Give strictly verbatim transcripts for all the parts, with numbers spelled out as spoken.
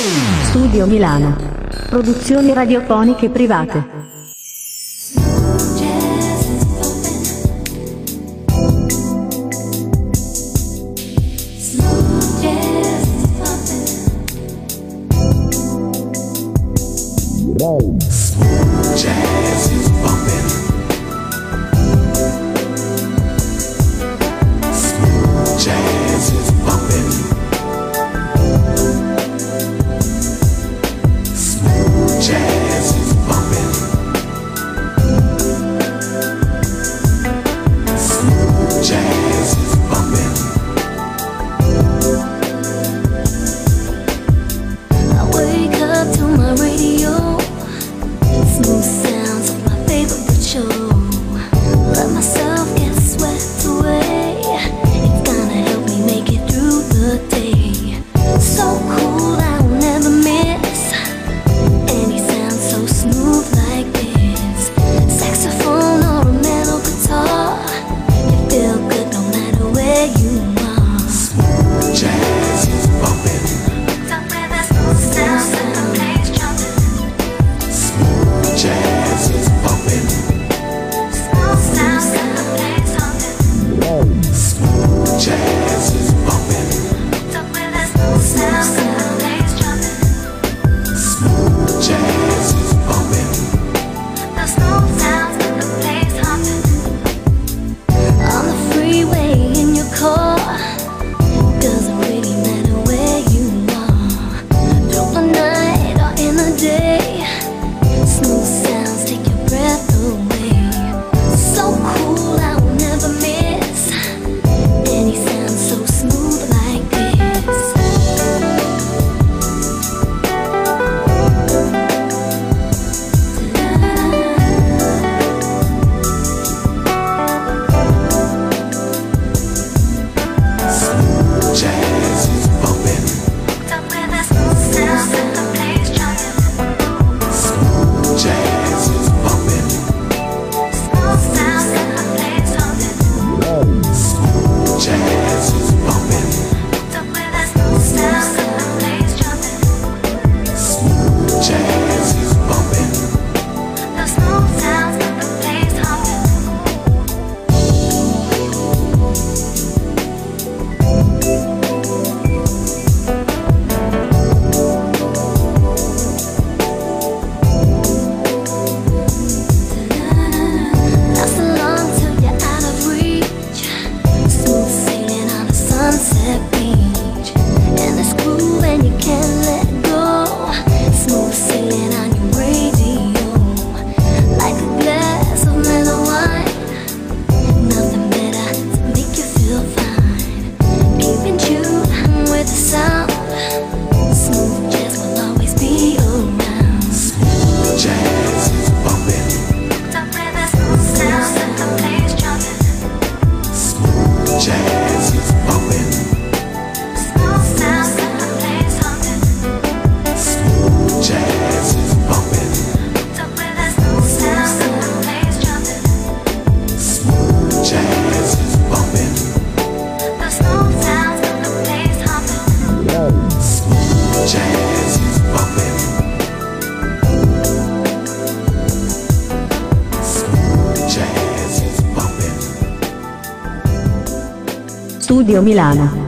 Studio Milano. Produzioni radiofoniche private. Studio Milano.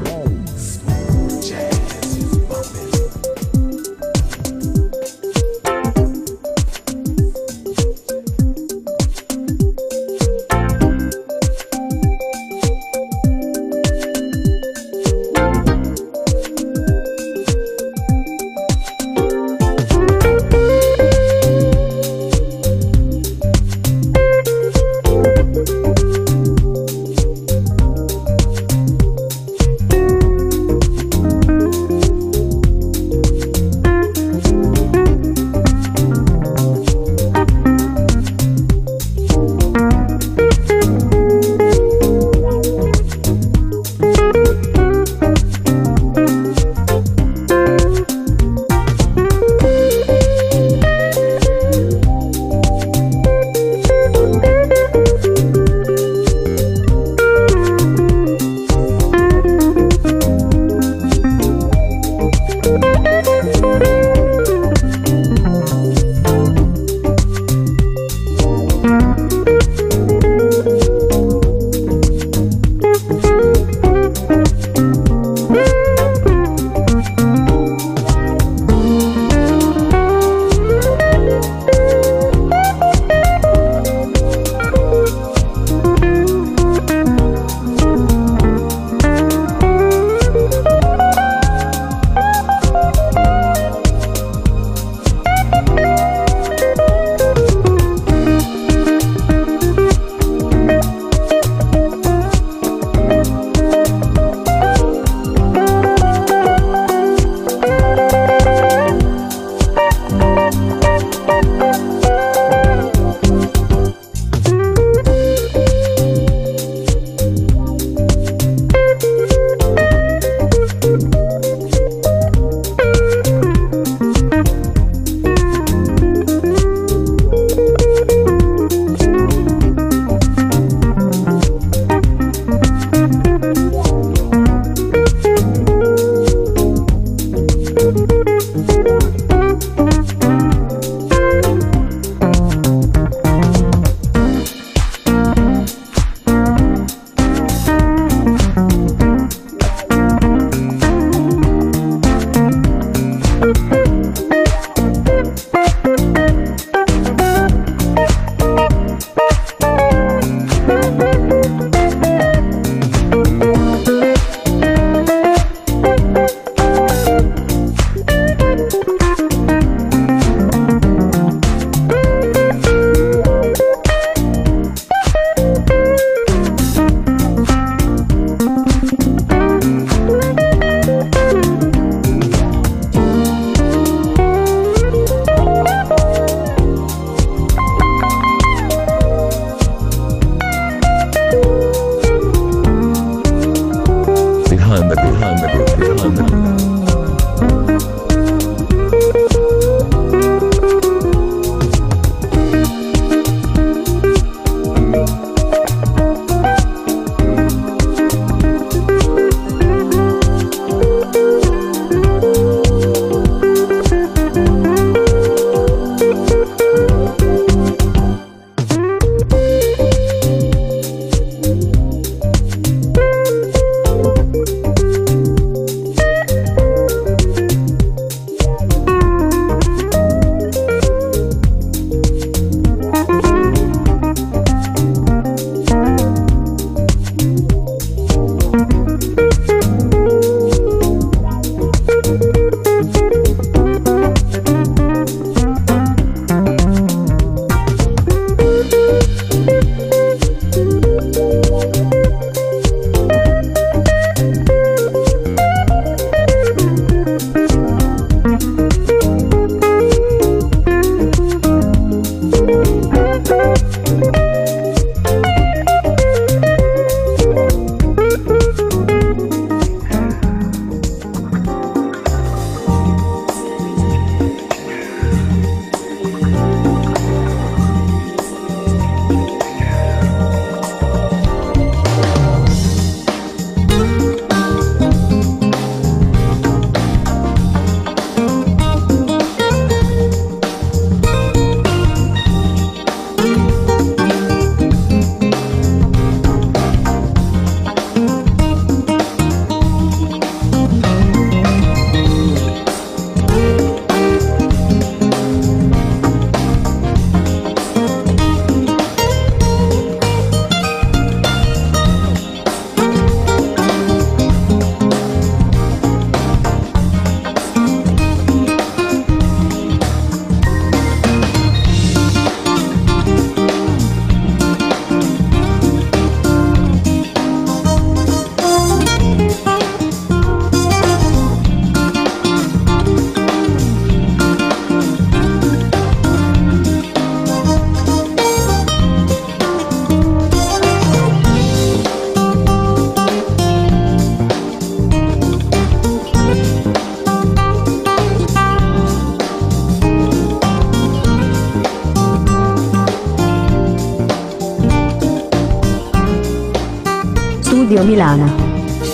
Studio Milano.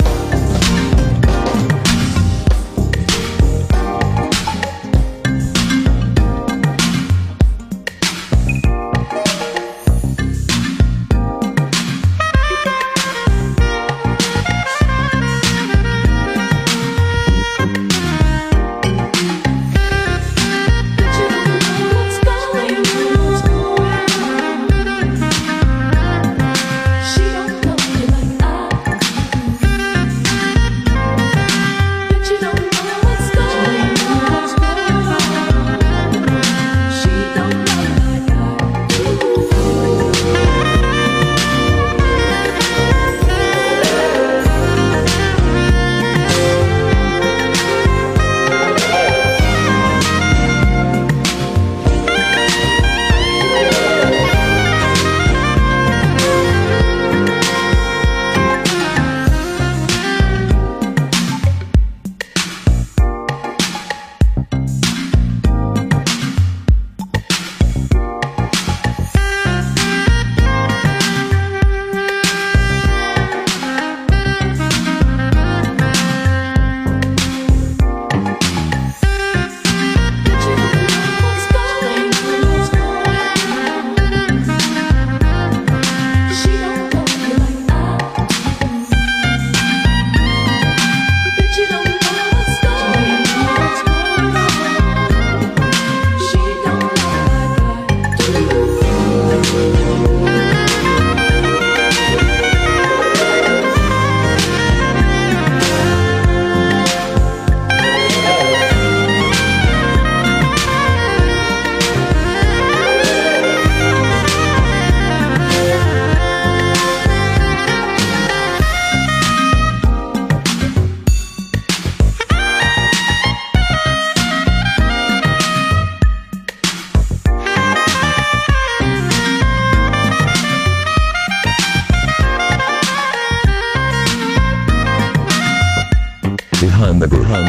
Behind the behind the behind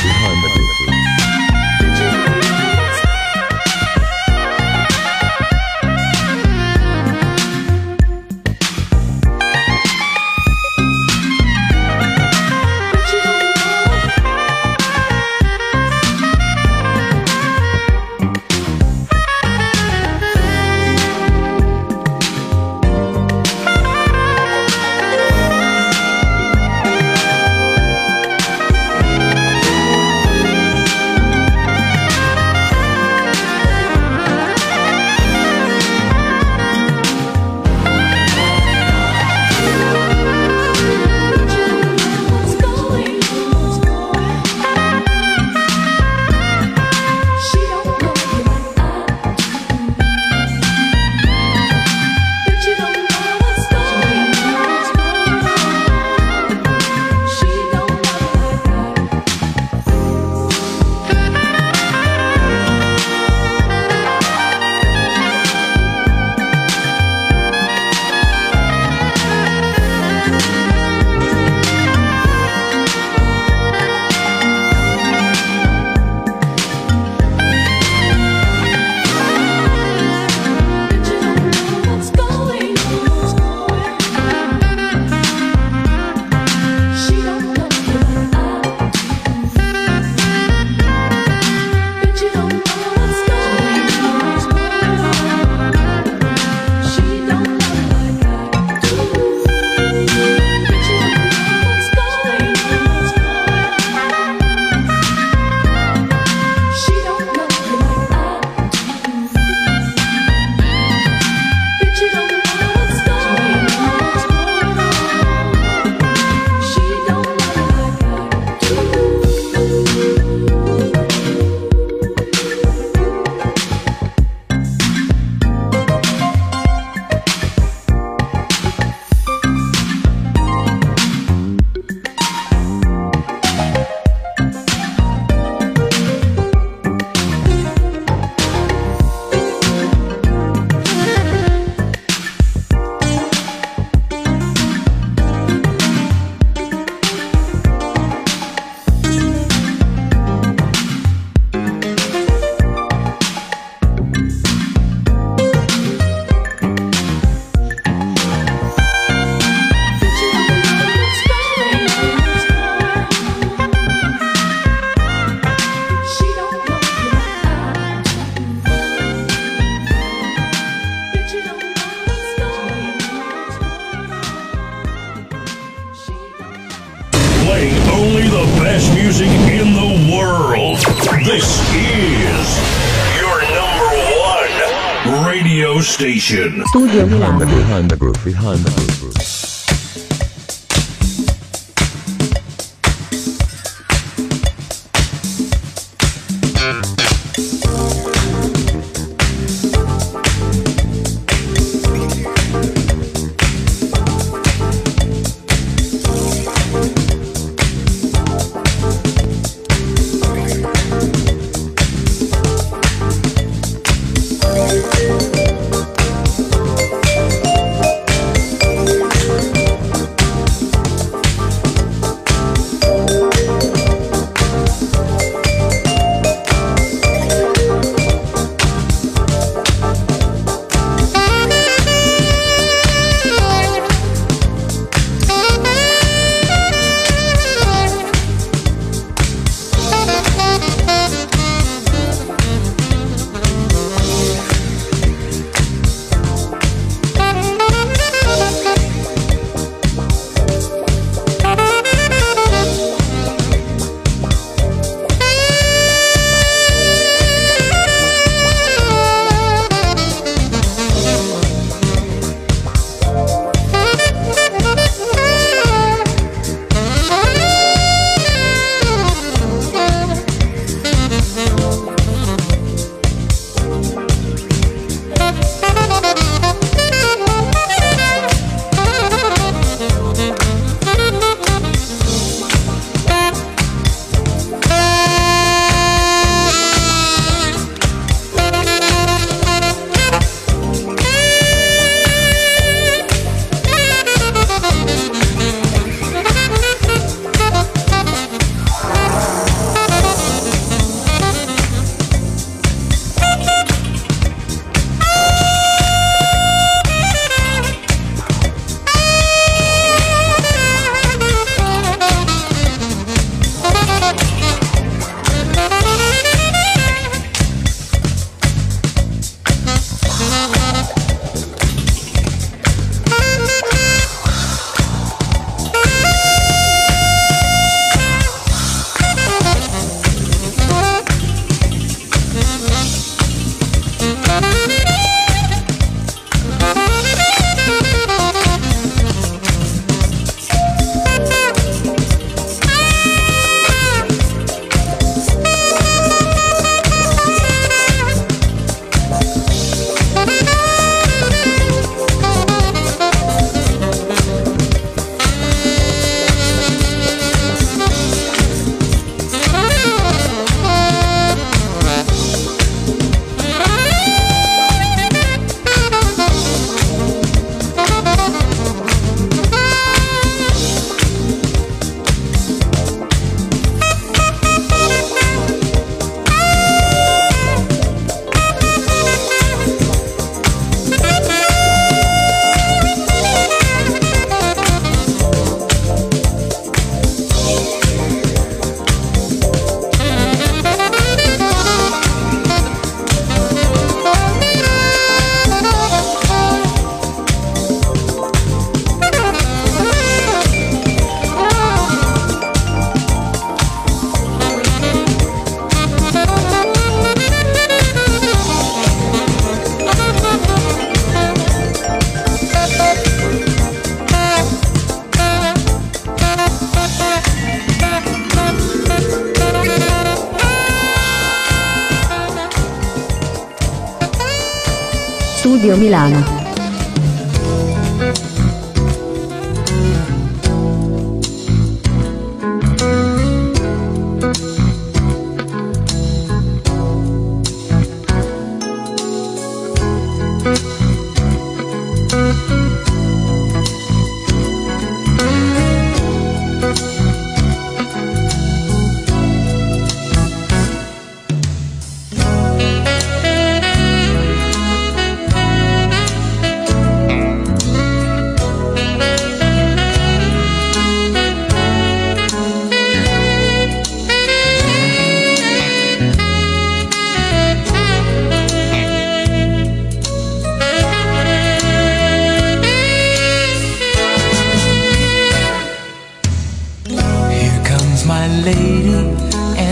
the This is your number one radio station. Studio Behind the Milano. groove, behind the groove, behind the groove. Studio Milano.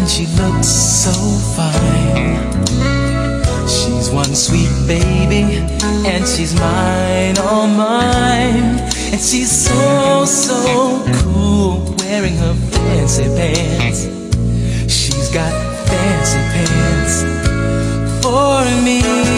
and she looks so fine. She's one sweet baby, and she's mine, all mine. And she's so, so cool, wearing her fancy pants. She's got fancy pants for me.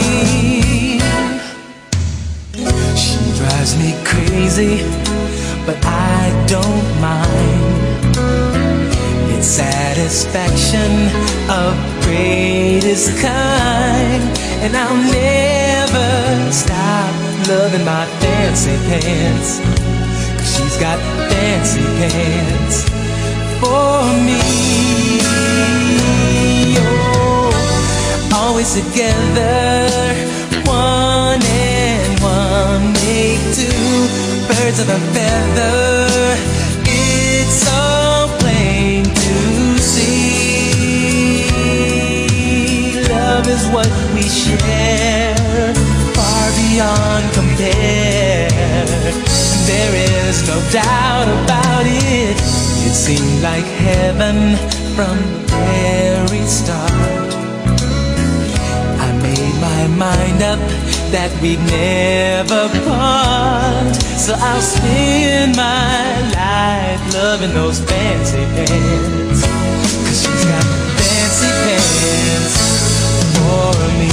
She drives me crazy, but I don't mind. It's satisfaction of greatest kind. And I'll never stop loving my fancy pants, 'cause she's got fancy pants for me. Oh, always together, one and one make two, birds of a feather. It's so plain to see. Love is what we share, far beyond compare. There is no doubt about it. It seemed like heaven from the very start. I made my mind up that we'd never part. So I'll spend my life loving those fancy pants, 'cause she's got fancy pants for me.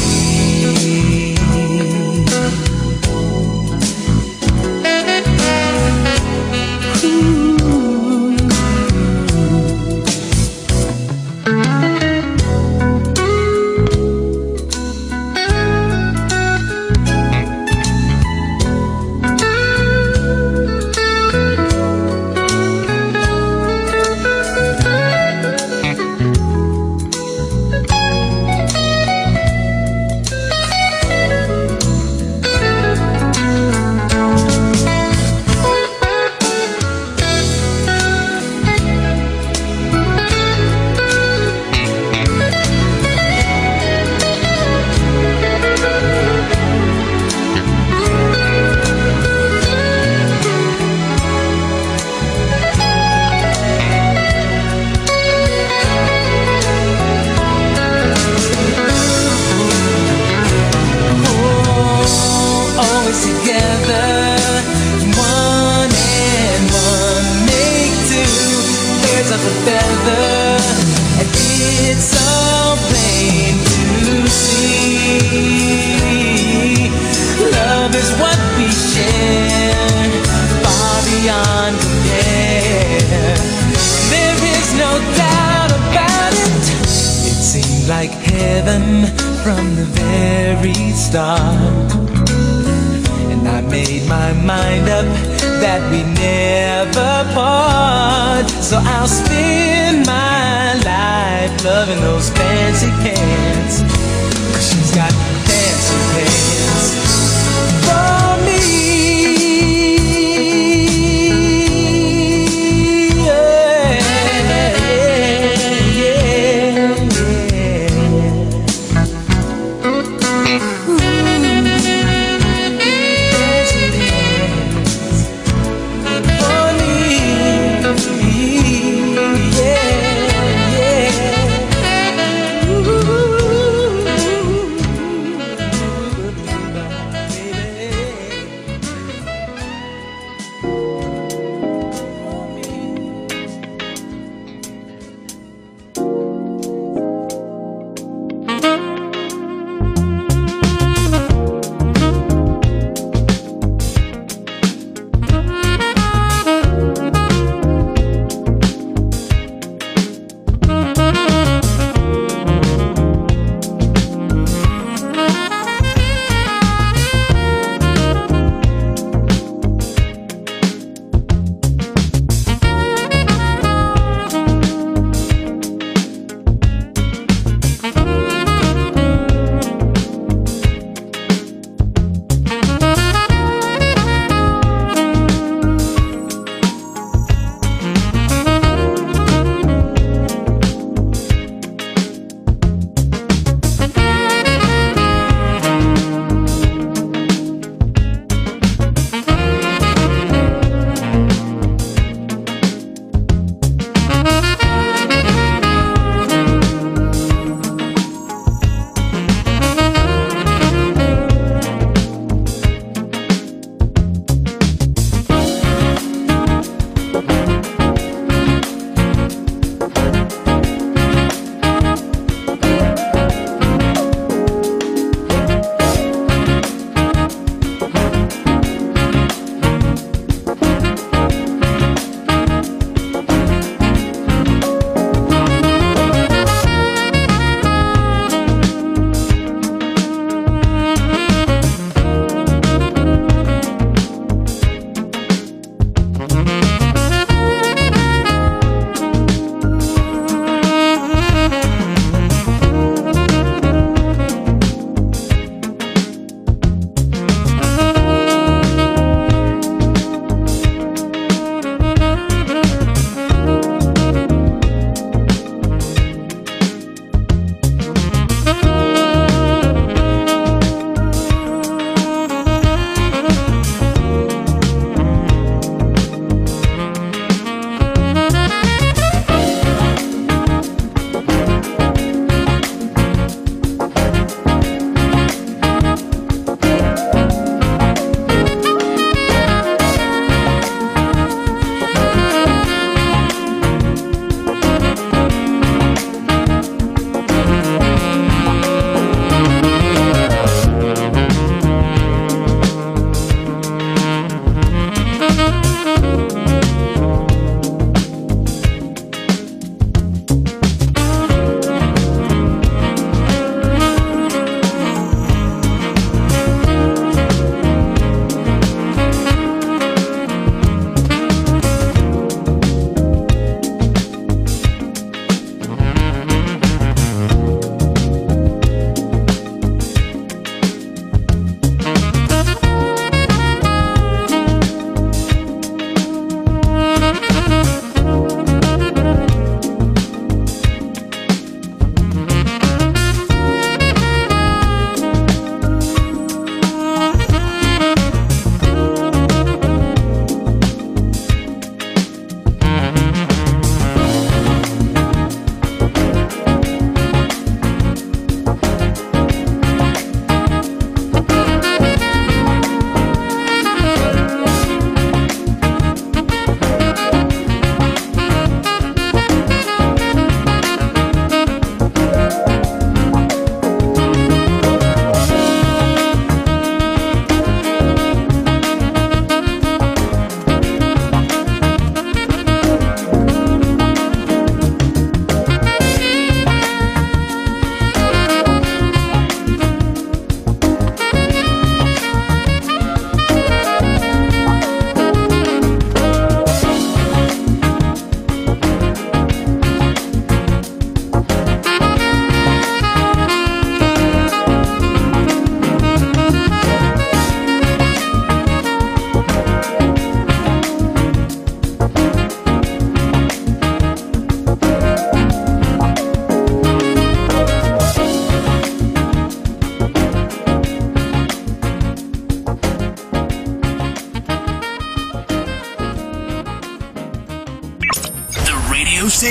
Like heaven from the very start. And I made my mind up that we never part. So I'll spend my life loving those fancy pants, 'cause she's got fancy pants for me. Ooh.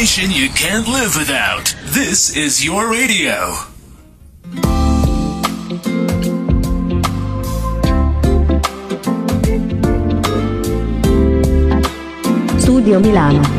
station you can't live without. This is your radio. Studio Milano.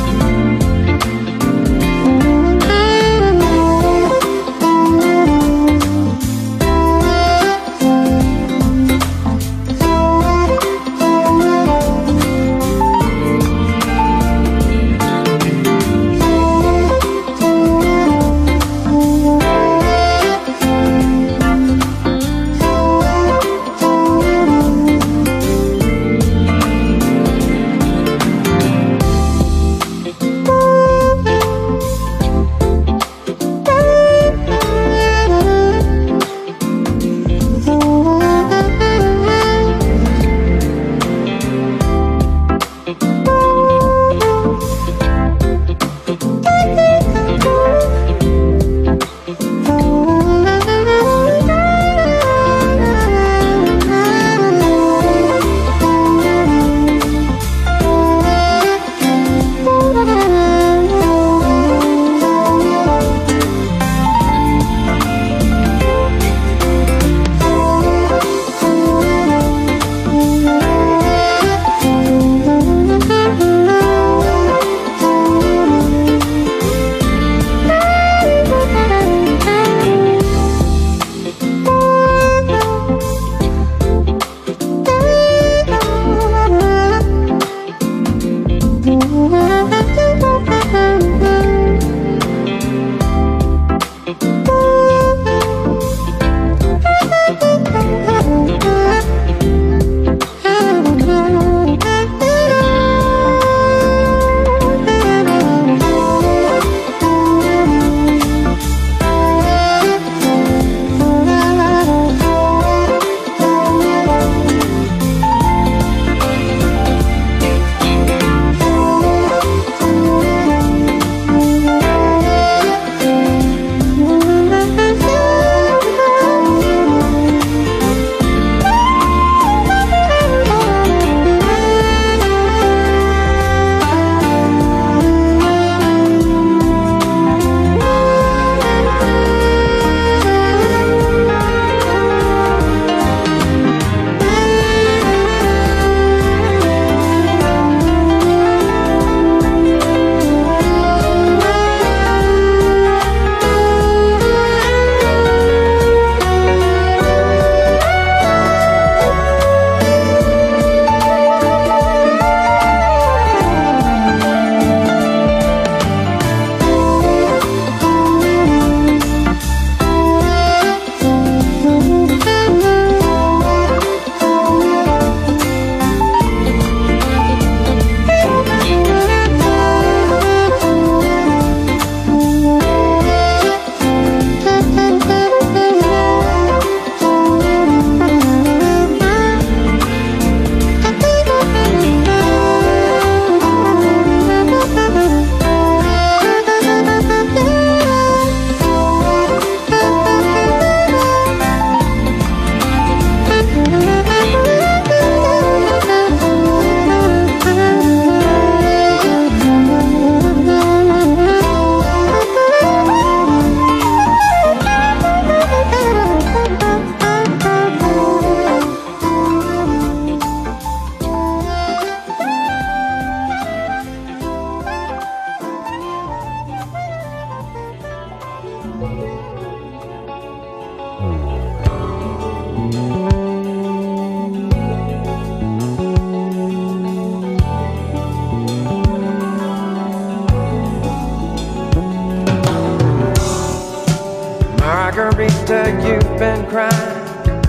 Margarita, you've been crying.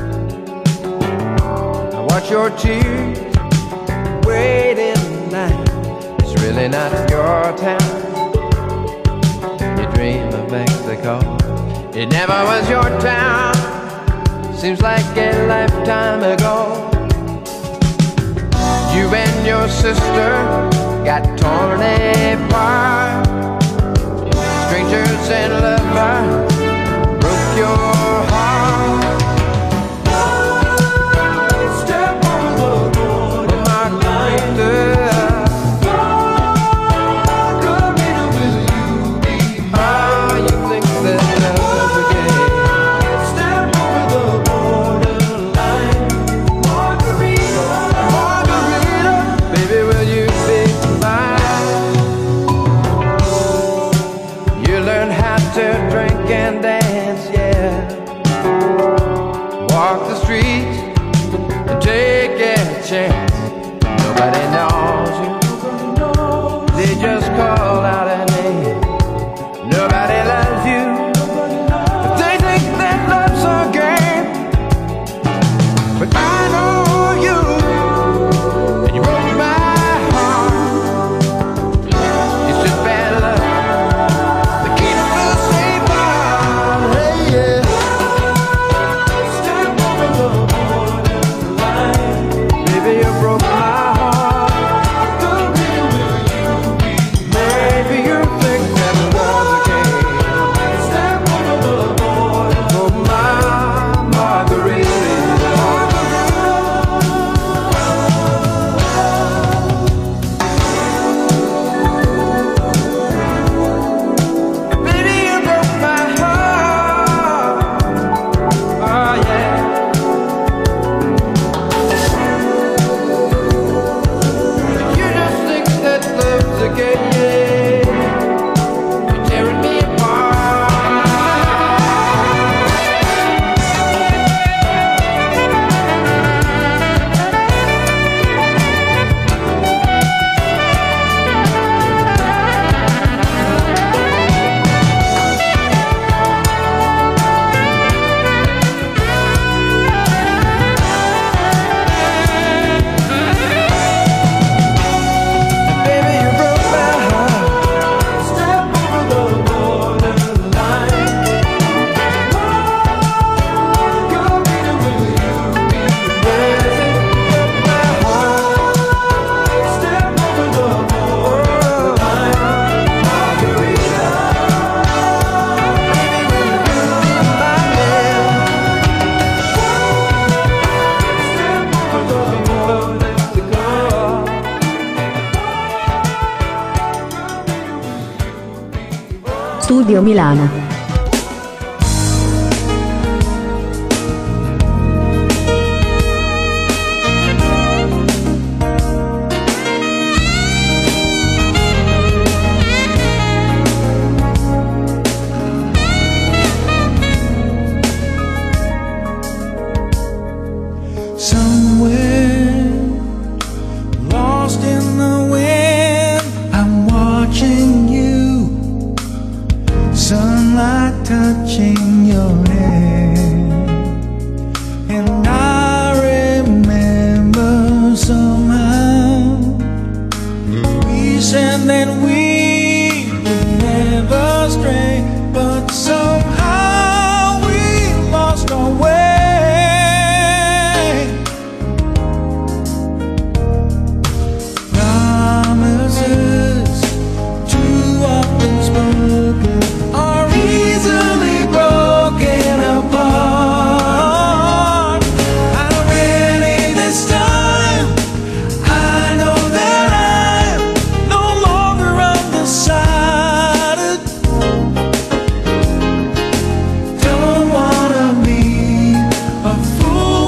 I watch your tears wait in line. It's really not your town. You dream of Mexico. It never was your town. Seems like a lifetime ago. You and your sister got torn apart. Strangers and lovers broke your heart. Step on the borderline. and dance, yeah. Walk the streets and take a chance. Nobody knows you, they just call out a name. Nobody loves you, but they think that love's a game. But I know you, and you broke my heart. It's just bad luck that keeps us apart. Hey, yeah. Step over the borderline. Baby, you broke my heart. Maybe you think that love's a game. Step over the border. Oh, my margarita. Baby, you broke my heart. Oh, yeah. You just think that love's a game, yeah. You're tearing me apart. Baby, you broke my heart. Step over the borderline. You're beating with you. Baby, you broke my heart. Step over the borderline. Margarita. Baby, when you do my name. Step over the border to go. Studio Milano. Somewhere lost in the wind, I'm watching you. Sunlight touching your hair, and I remember somehow we said that we would never stray, but somehow we lost our way. Promises too often spoken are easily broken apart. I'm ready this time. I know that I'm no longer undecided. Don't wanna be a fool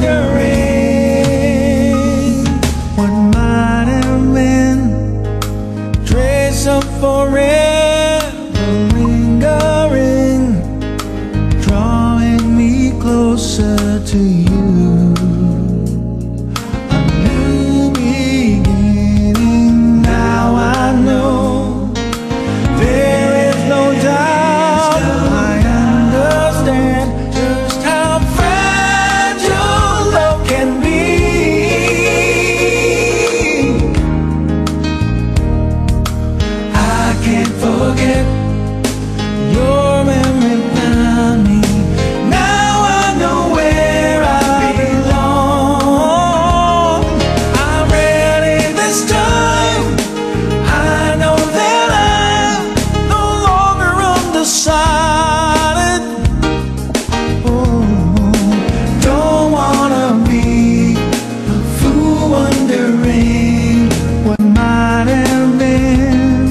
wondering what might have been. Trace of forever lingering, drawing me closer to you. A new beginning, now I know. There is no doubt, I understand just how fragile love can be. I can't forget your memory found me. Now I know where I belong. I'm ready this time. I know that I'm no longer undecided. Oh, don't wanna be a fool wondering what might have been.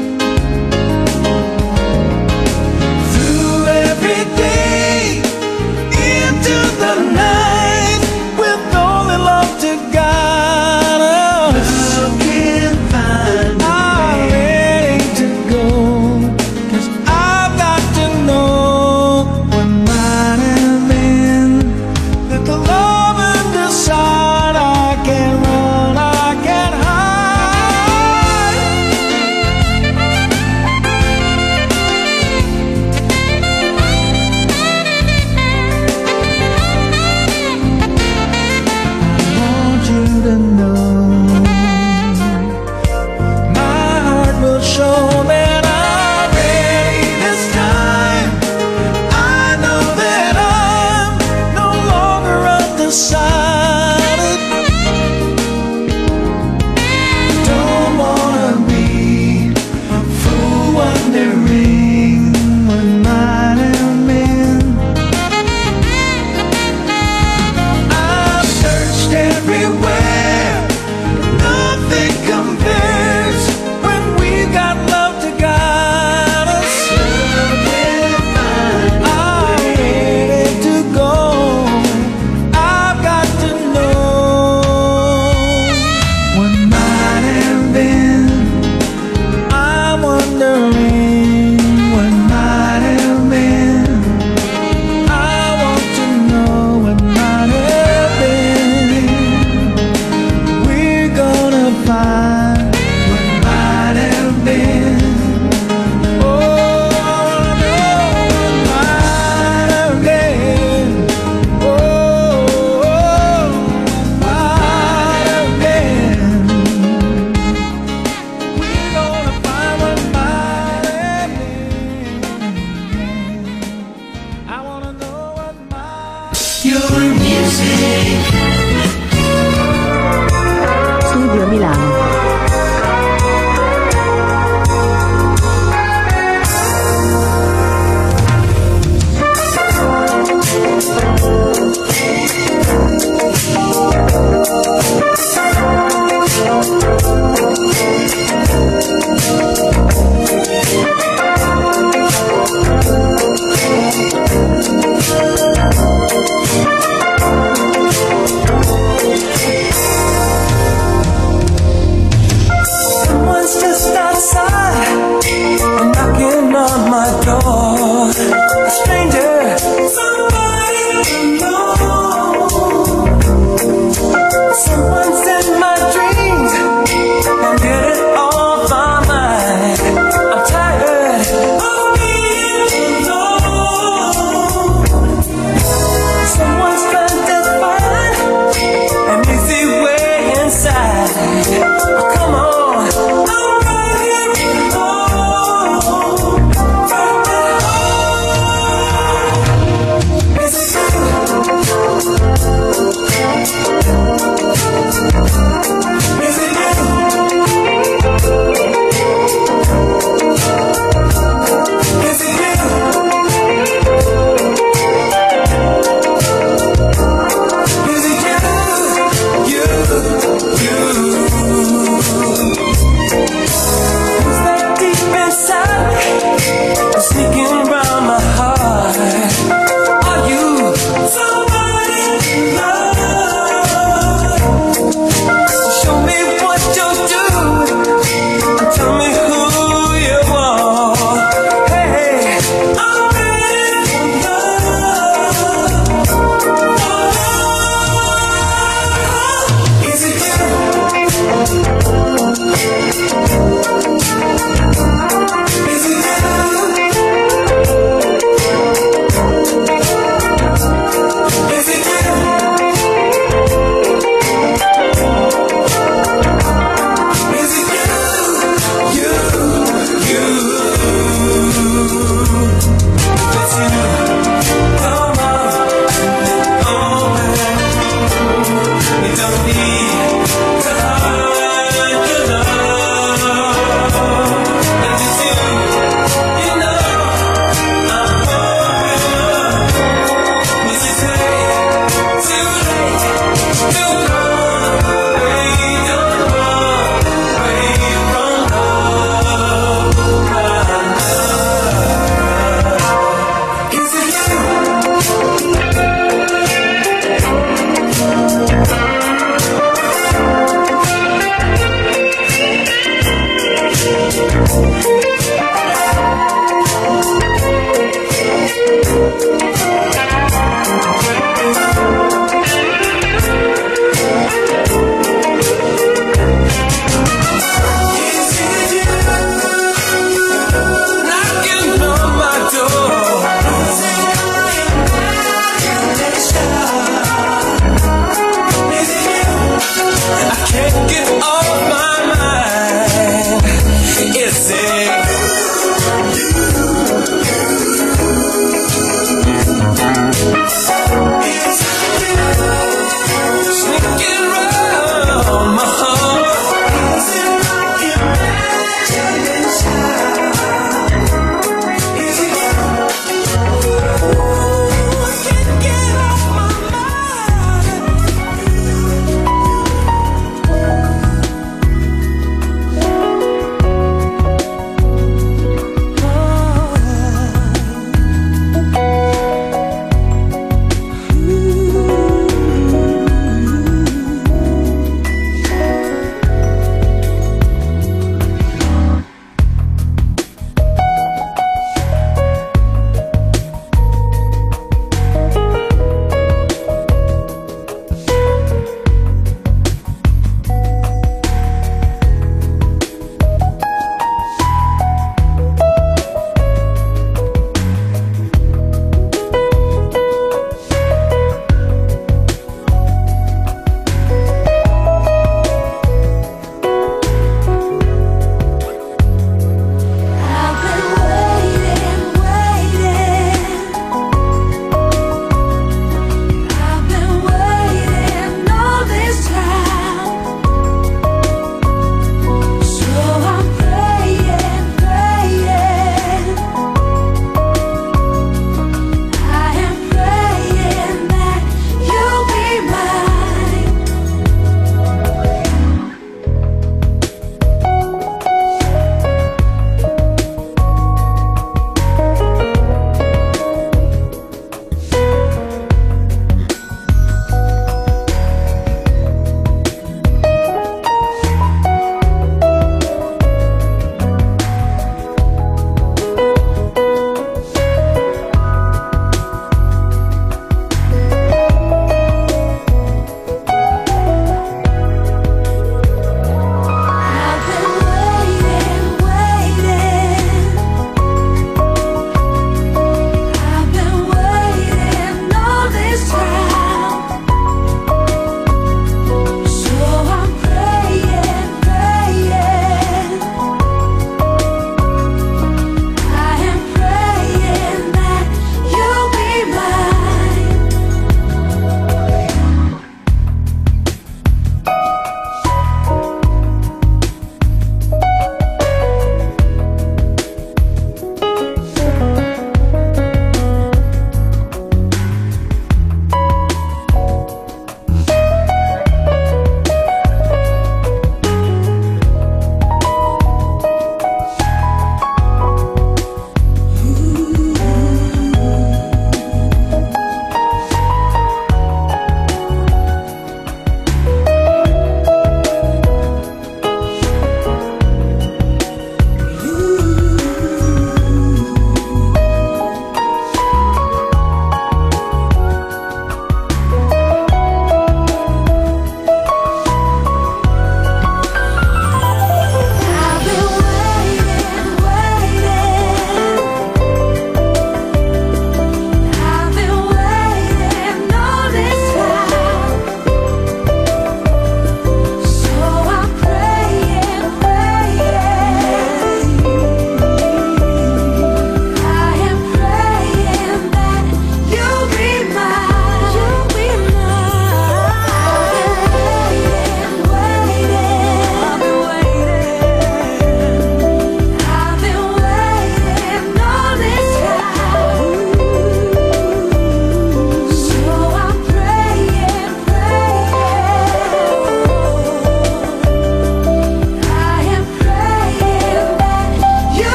Through every day, into the night, with only love to guide us. Love can find a way. I'm ready to go, 'cause I've got your music. Studio Milano.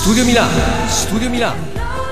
Studio Milano, Studio Milano.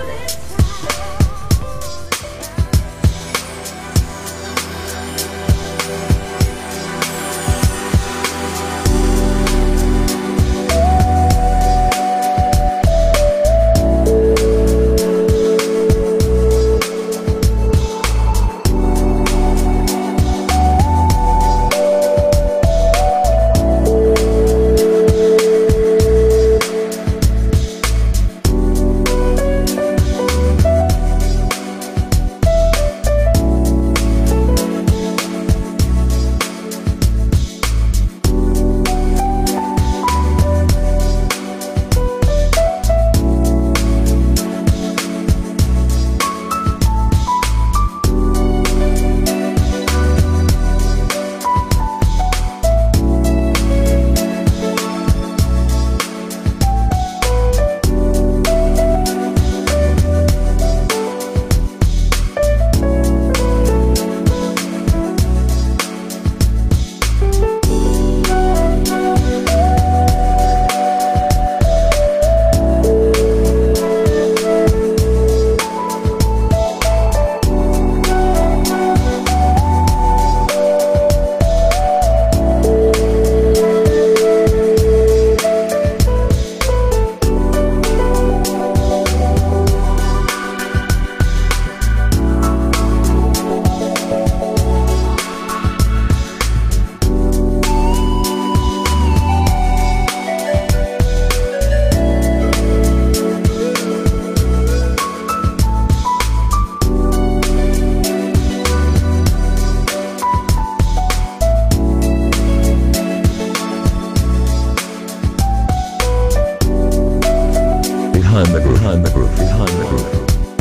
Behind the groove, behind the groove, behind the groove.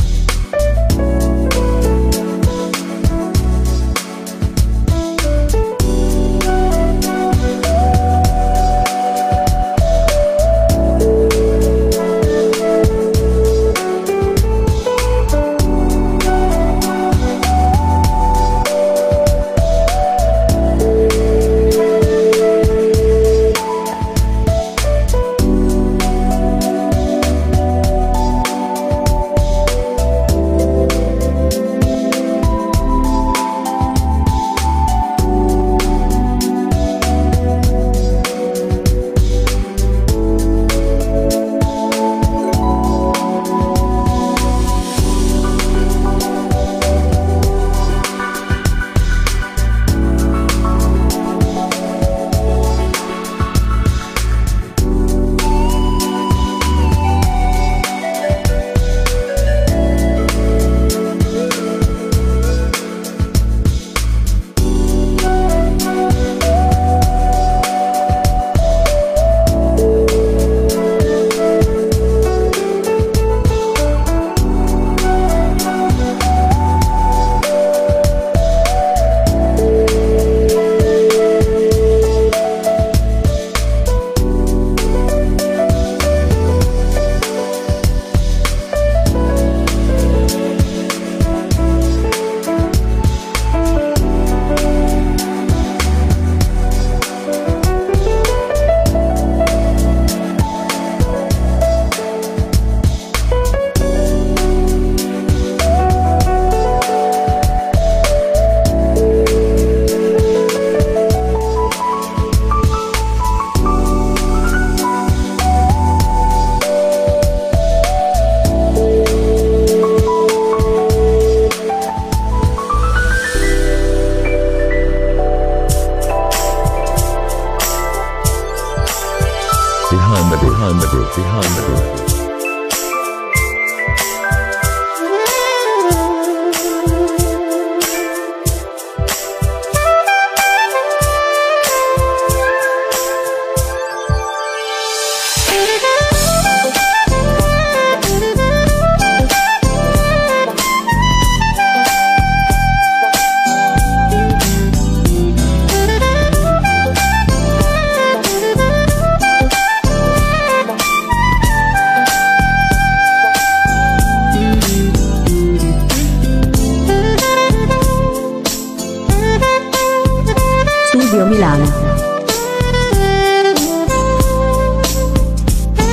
Behind the groove, behind the groove, behind the groove. Studio Milano.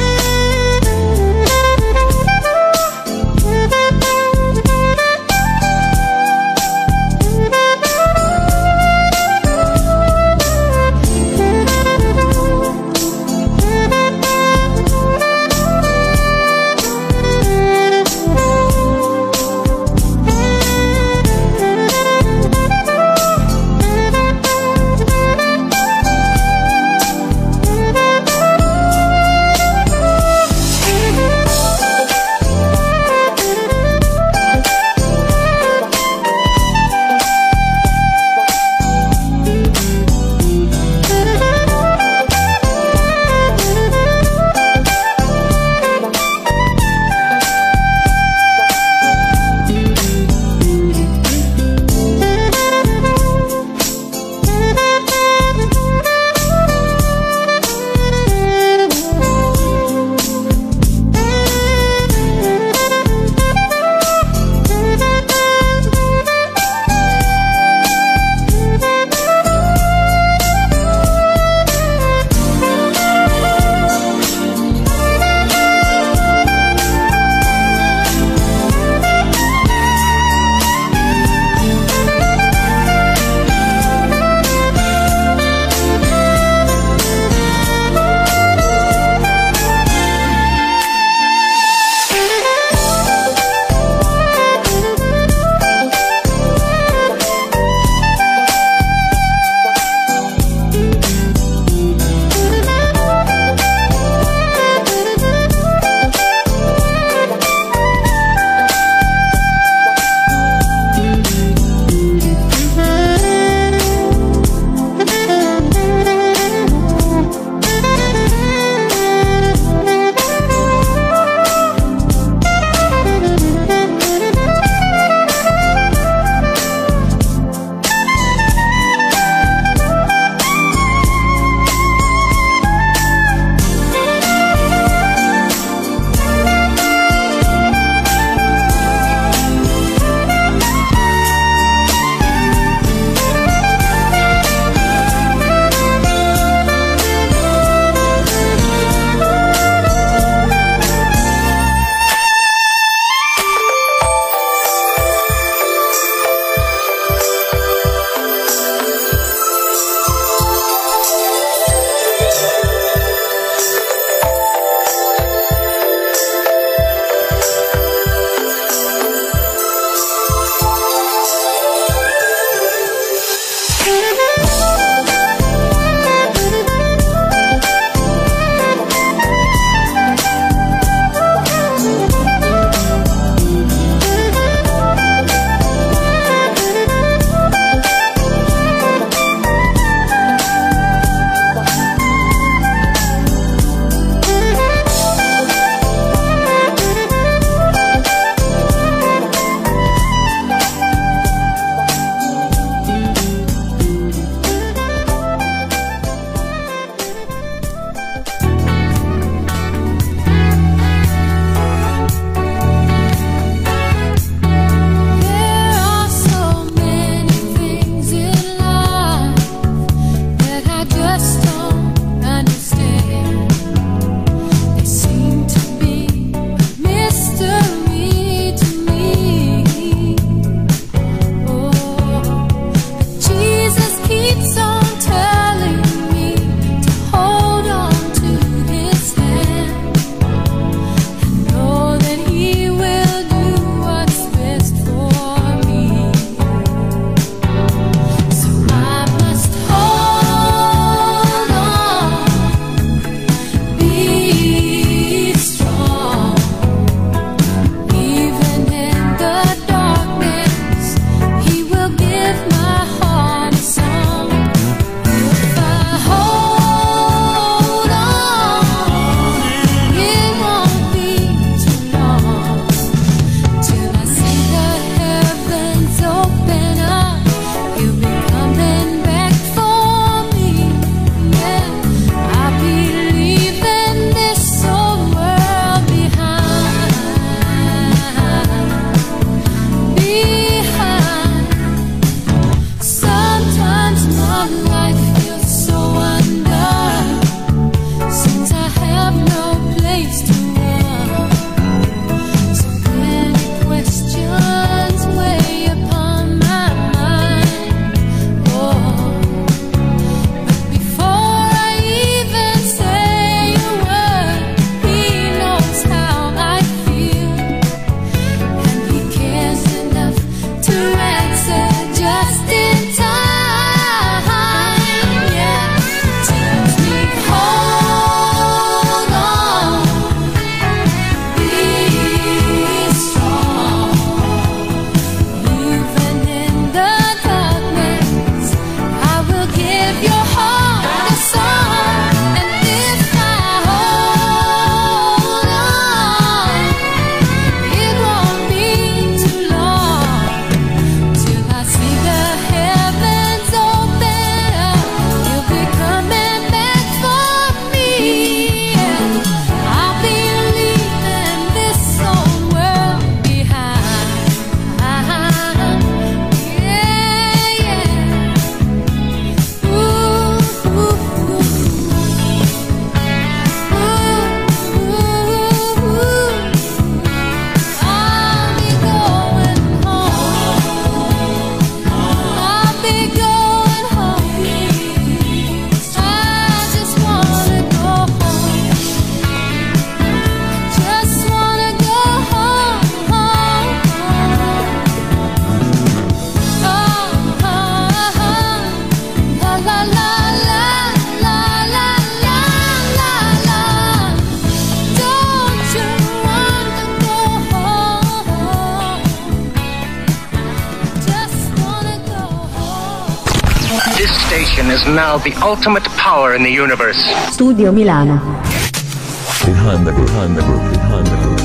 man is now the ultimate power in the universe. Studio Milano. Behind the groove, behind the groove, behind the groove.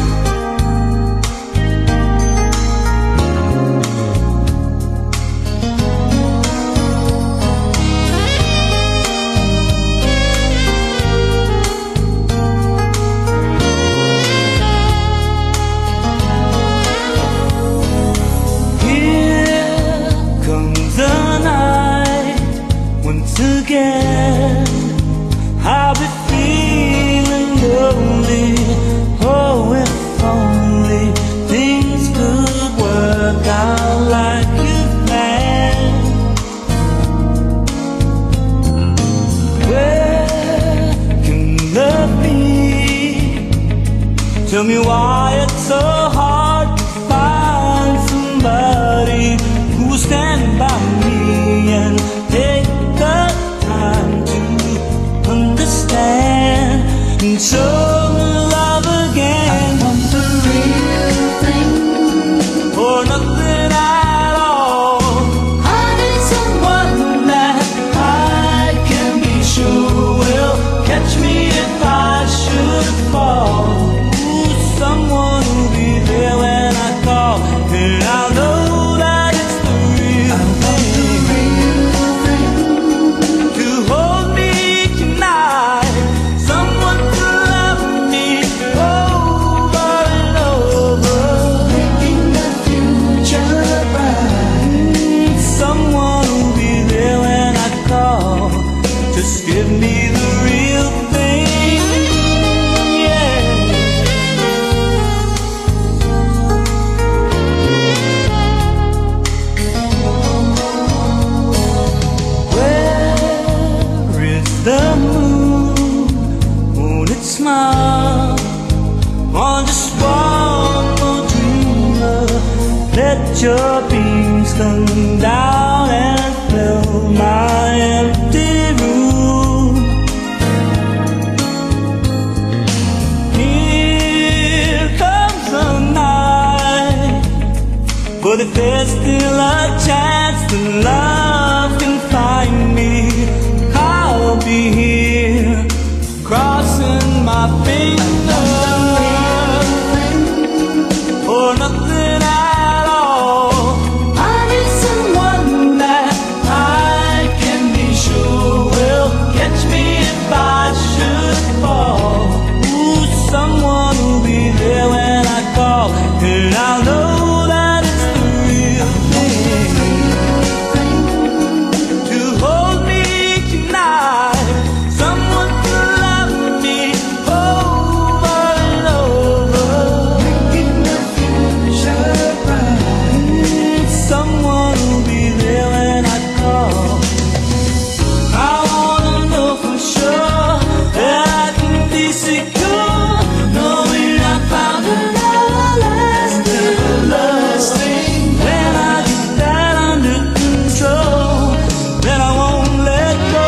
Again, I'll be feeling lonely. Oh, if only things could work out like you planned. Where can love be? Tell me why it's so hard to find somebody who will stand by me and take the time to understand and show me love again. I want the real thing or nothing at all. I need someone that I can be sure will catch me if I should fall. Ooh, someone who'll be there when I call, and I'll know that it's the real thing. To hold me tonight, someone to love me over and over, making the future bright. Someone who'll be there when I call, just give me the real thing, yeah. Where is the moon? Won't it smile on just one more dreamer? Let your beams come down and fill my empty room. Here comes the night, but if there's still a chance that love can find me, I'll be here, crossing my fingers for nothing at all. I need someone that I can be sure will catch me if I should fall. Ooh, someone who'll be there when I call, and I'll know that it's the real thing. To hold me tonight, someone to love me over and over, making the future bright. Someone who'll be there when I call. I wanna know for sure that I can be secure, knowing I found another lasting, everlasting. When I get that under control, then I won't let go.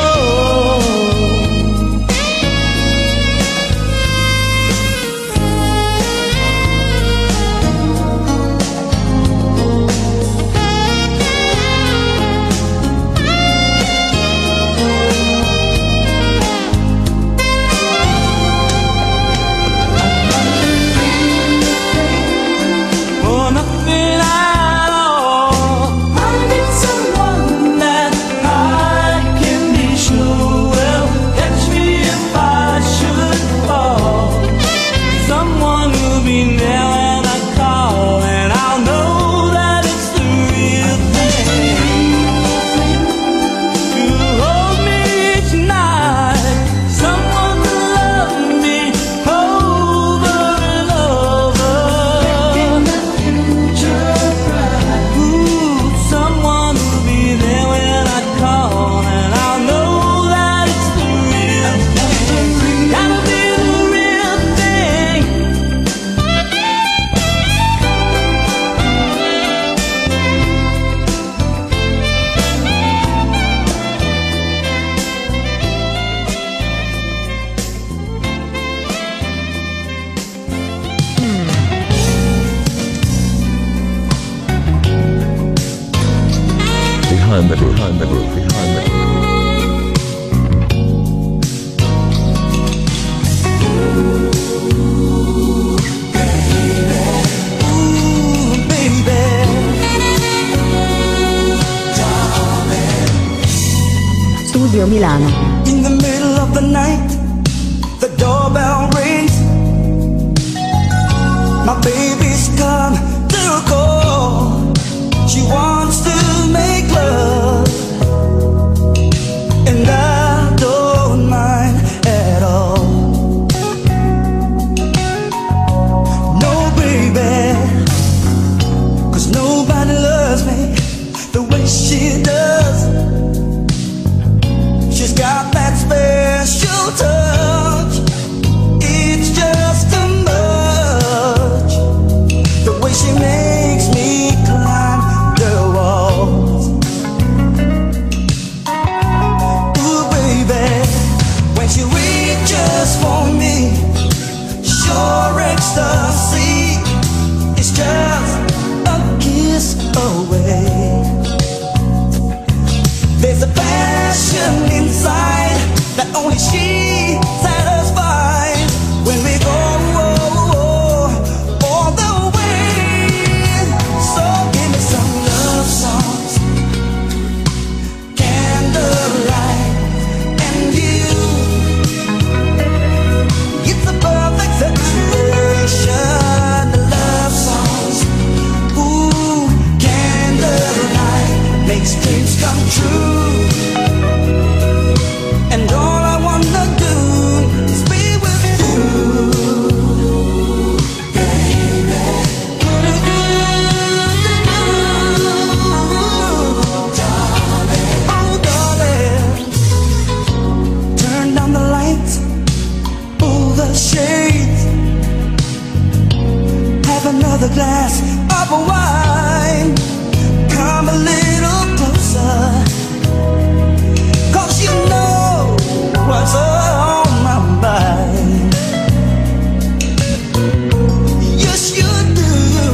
For nothing at all. I need someone that I can be sure will catch me if I should fall. Someone who'll be there when I call, and I'll know that it's the real thing. To hold me tonight, someone to love me over and over, making the future bright. Ooh, someone who'll be there when I call, and I'll know that it's the real thing. Gotta be the real thing. Behind the groove, behind the groove, behind the groove. Studio Milano. In the middle of the night, the doorbell rings. My baby's come to call. She wants to make love, and I don't mind at all. No, baby, 'cause nobody loves me the way she does. She's got that special touch. It's just too much. The way she makes me climb the walls. Ooh, baby, when she reaches for me, sure ecstasy. It's just a kiss away. There's a passion inside that only she satisfies when we go all the way. So give me some love songs, candlelight, and you. It's a perfect situation. Love songs, ooh, candlelight makes dreams come true. And all I wanna do is be with you, baby. Darling, oh darling, turn down the lights, pull the shades, have another glass of wine, come a little closer. You know what's on my mind. Yes, you do.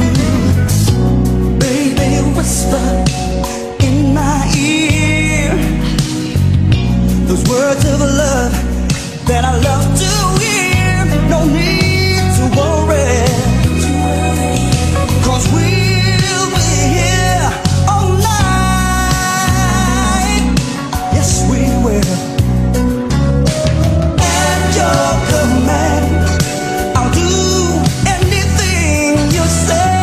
Baby, whisper in my ear those words of love that I love to hear. No need to worry, 'cause we'll be here all night. Yes, we will. At your command, I'll do anything you say.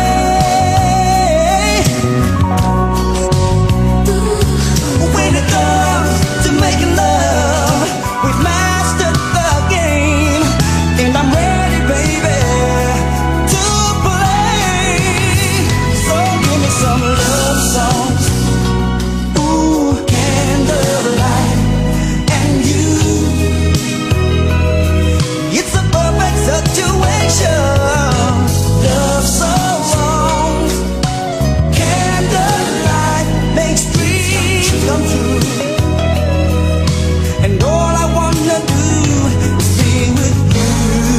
When it comes to making love, we've mastered the game, and I'm ready, baby, to play. So give me some love songs, ooh, candlelight, and you. It's a perfect situation. Love songs, candlelight makes dreams come true. And all I wanna do is be with you.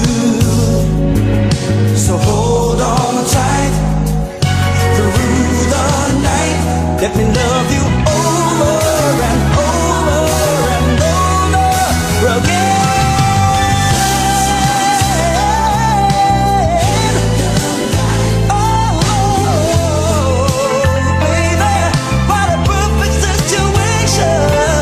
So hold on tight through the night. Let me love you over and over and over again. Oh, baby, what a perfect situation.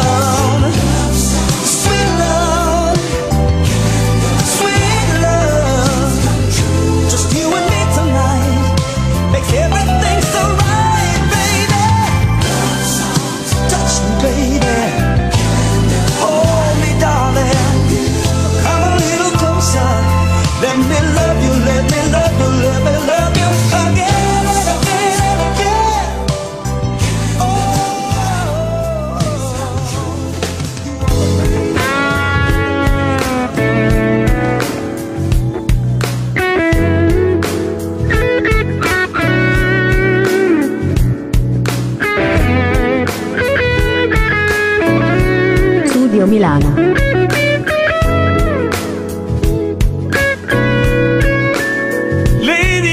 Sweet love, sweet love, just you and me tonight makes everything so right, baby. Touch me, baby. Hold me, darling. Come a little closer. Let me love you, let me love you, let me love you again and again and again. Oh. Studio Milano. Lady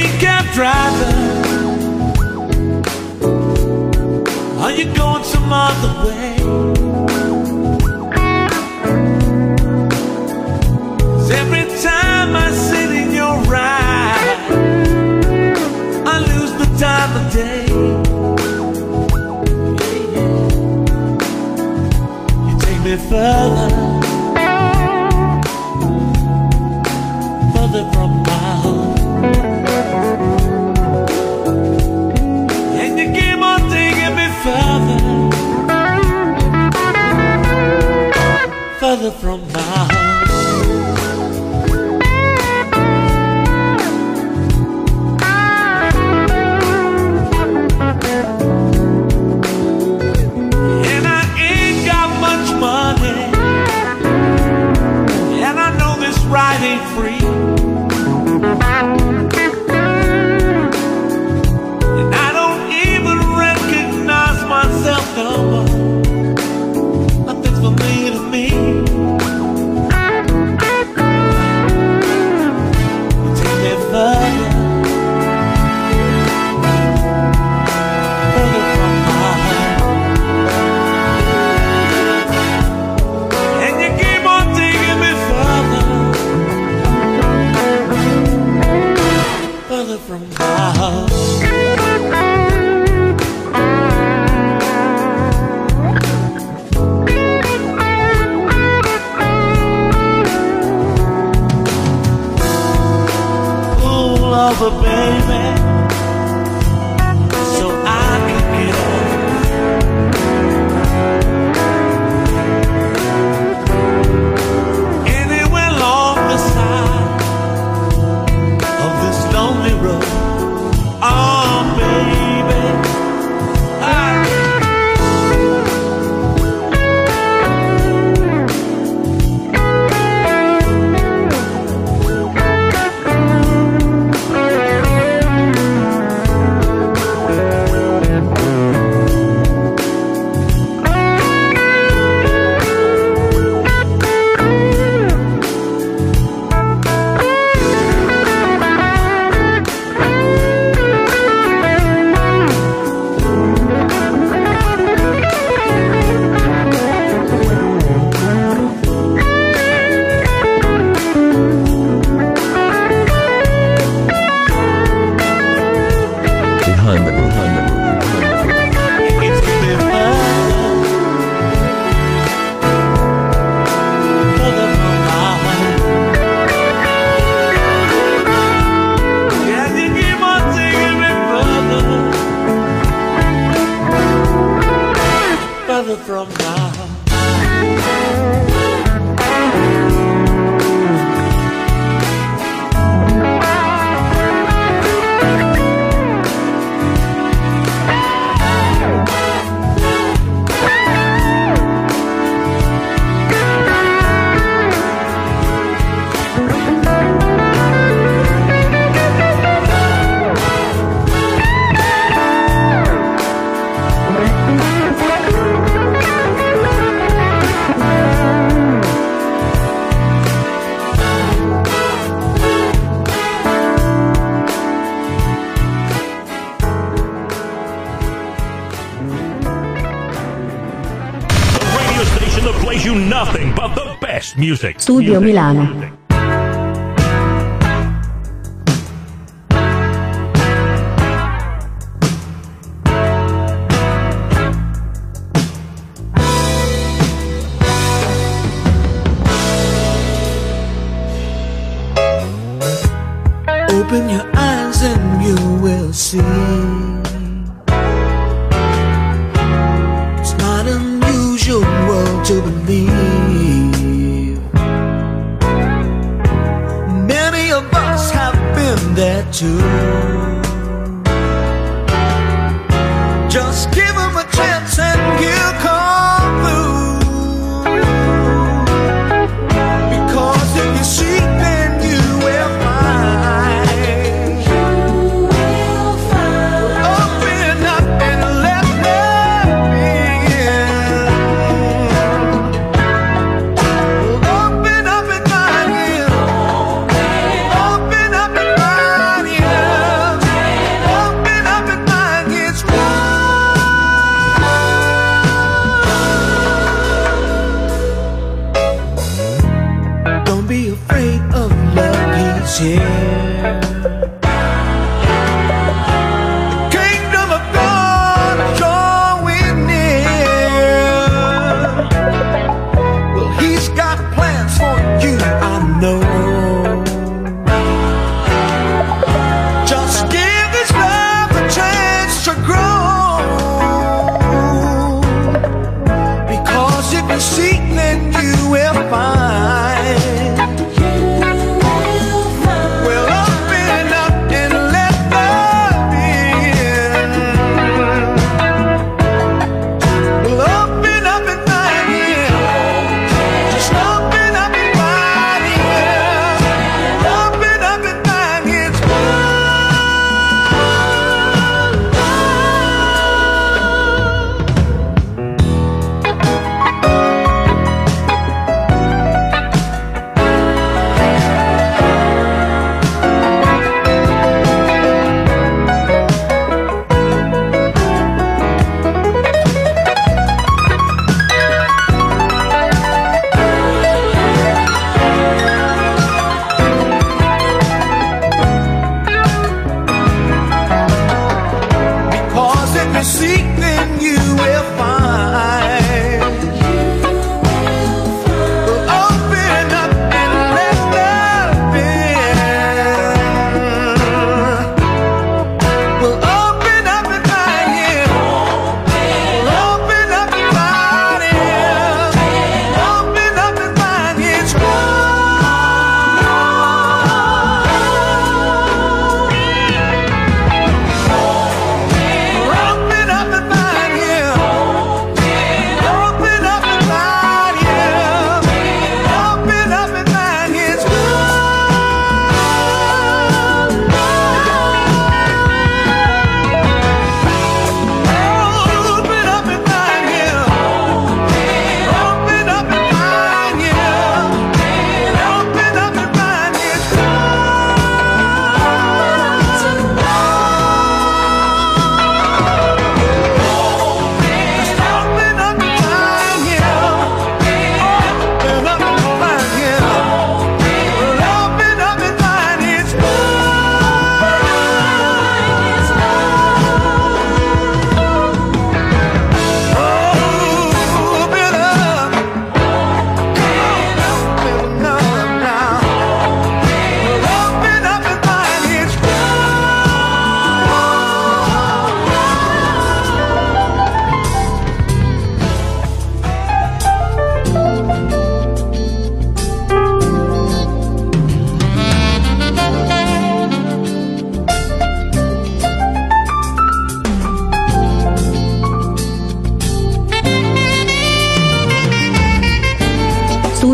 that ain't free. And I don't even recognize myself no more. Nothing's familiar to me. Take me further. From my house. Pull over, baby, so I can get on. Anywhere along the side of this lonely road. Oh, baby, I from now. That plays you nothing but the best music. Studio music, Milano. Music. Open your eyes and you will see. It's not unusual to believe. Many of us have been there too. Just give them a chance and you'll come through. Because if you seek, then you will find. Open up and let me in. Open up and find Him. Open up and find Him. Open up and find His word. Don't be afraid of love, He's here. Seek, then you will find. You will find. Well,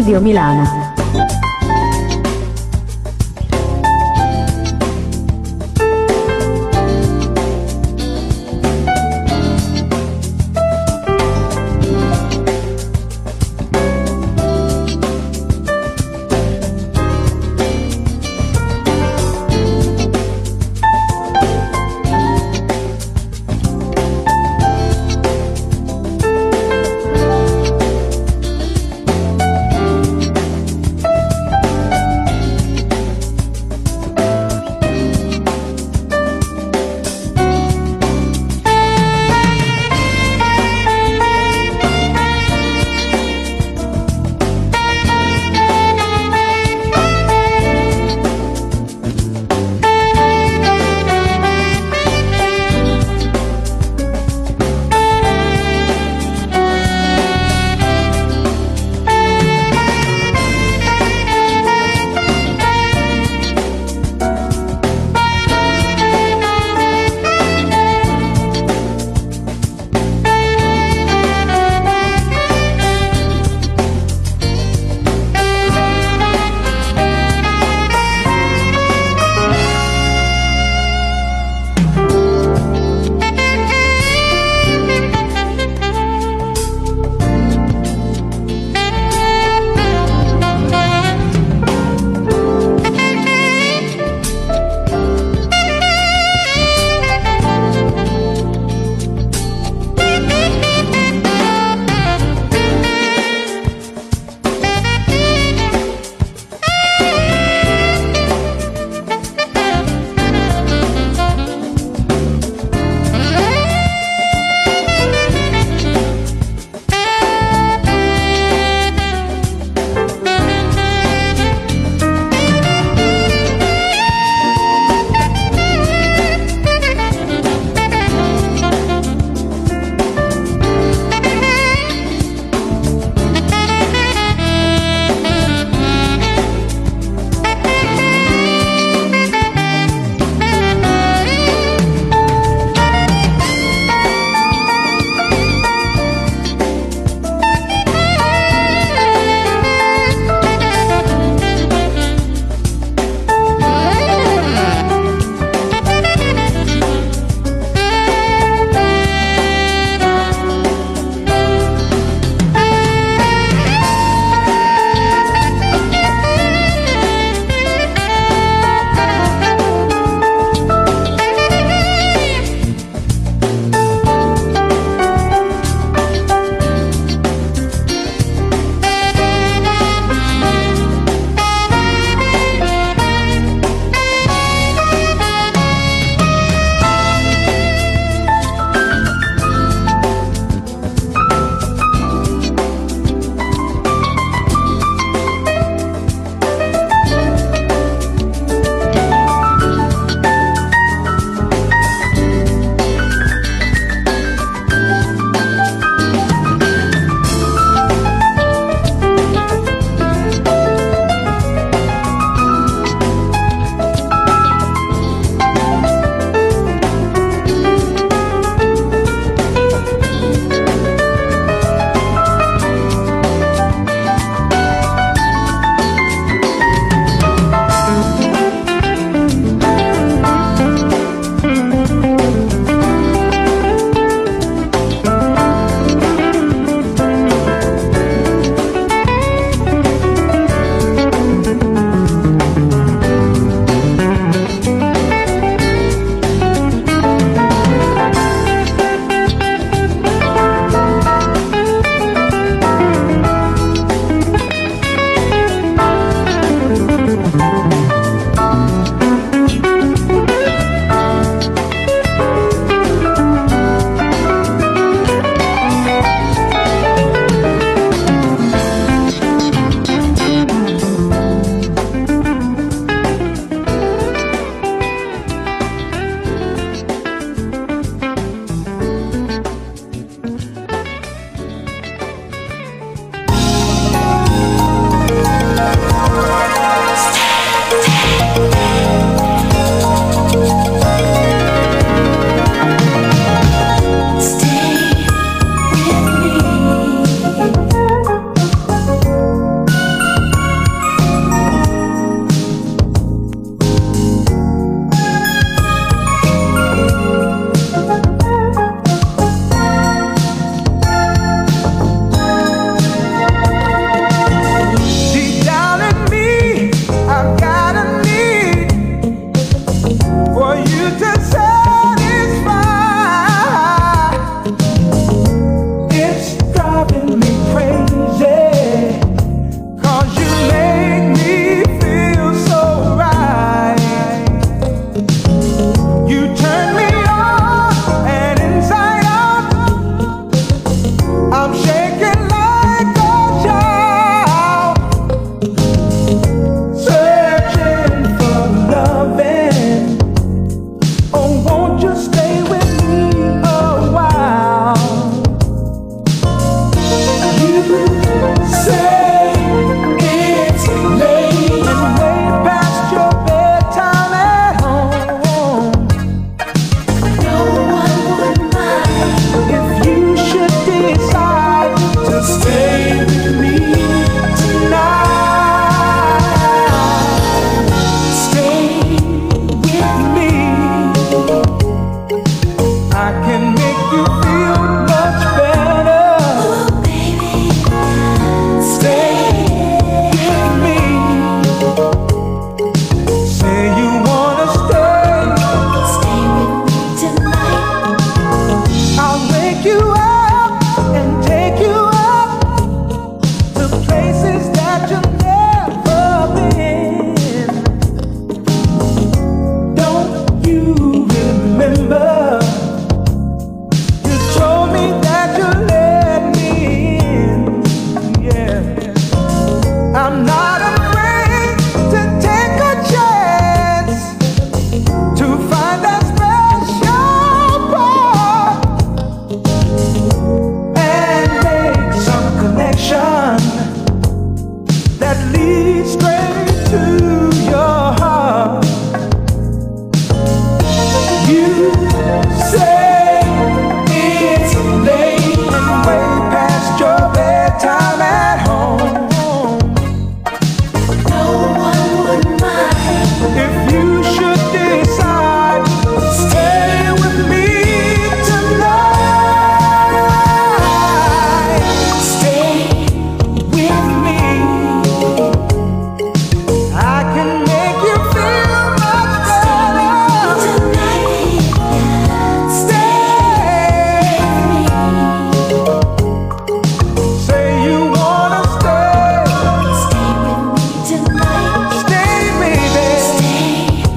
Studio Milano.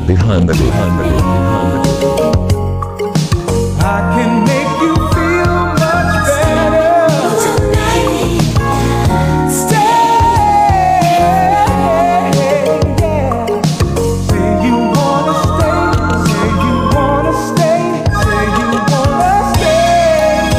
behind the groove, behind the groove, behind the groove. I can make you feel much better tonight. Stay, yeah. Say you wanna stay, say you wanna stay, say you wanna stay.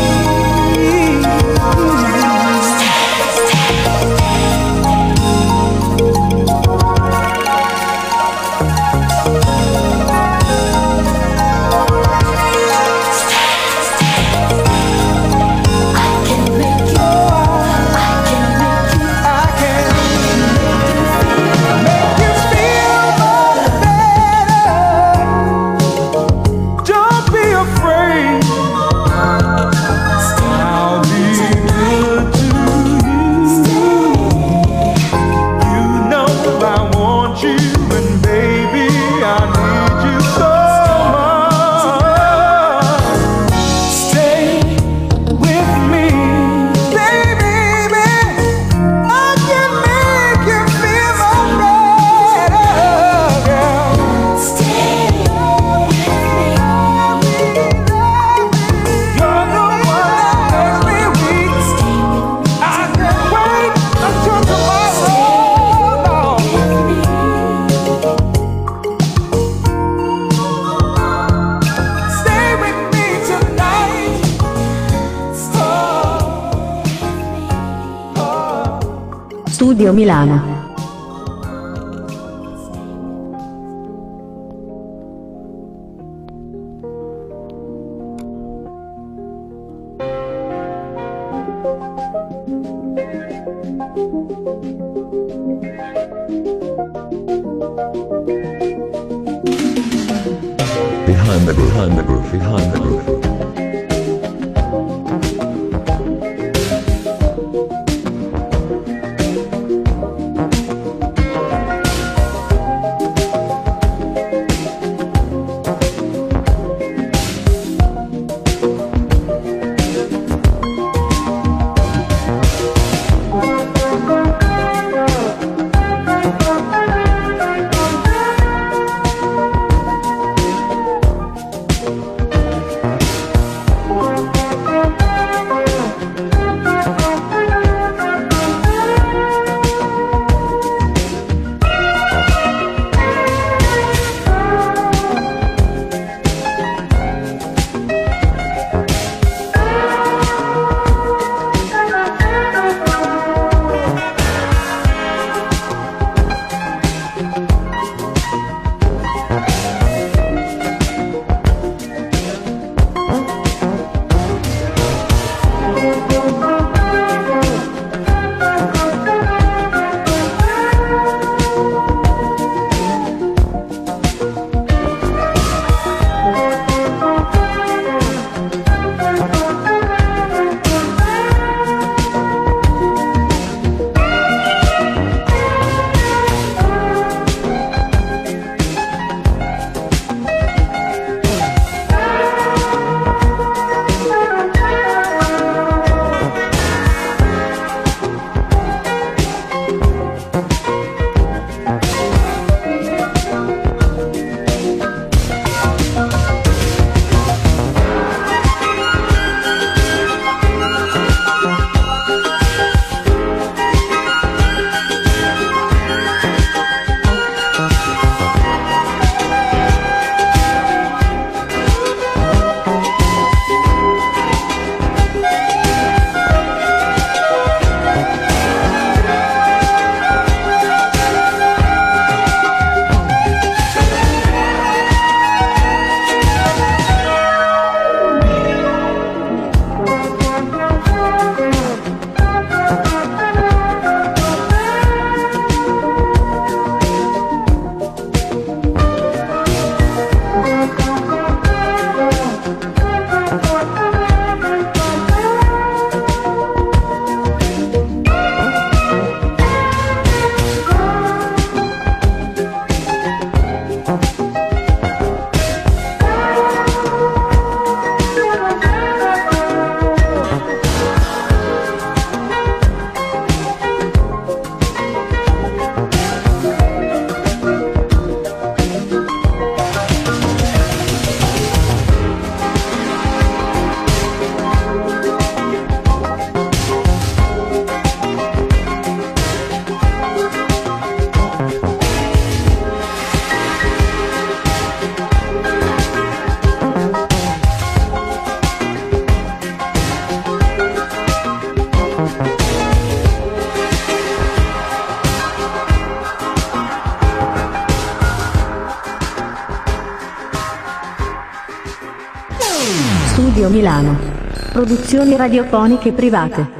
Studio Milano. Behind the groove, behind the groove, behind the groove. Studio Milano. Produzioni radiofoniche private.